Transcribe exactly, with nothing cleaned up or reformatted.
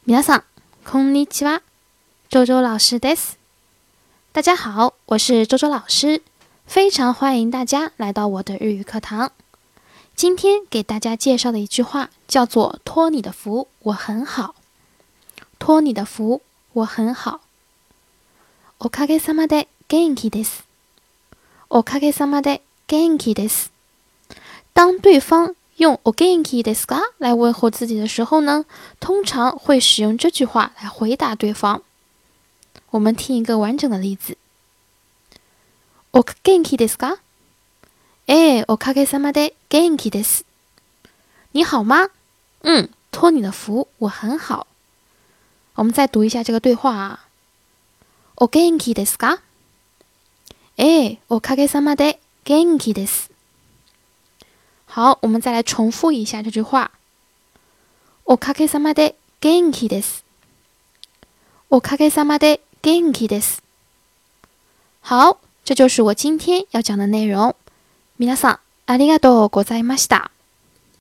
皆さん、こんにちは。周周老师です。大家好，我是周周老师，非常欢迎大家来到我的日语课堂。今天给大家介绍的一句话叫做托你的福，我很好。托你的福，我很好。おかげさまで元気です。おかげさまで元気です。当对方用お元気ですか来问候自己的时候呢，通常会使用这句话来回答对方。我们听一个完整的例子。お元気ですか？ええ、おかげさまで元気です。你好吗？嗯，托你的福，我很好。我们再读一下这个对话啊。お元気ですか？ええ、おかげさまで元気です。好，我们再来重复一下这句话。おかげさまで元気です。おかげさまで元気です。好，这就是我今天要讲的内容。皆さん、ありがとうございました。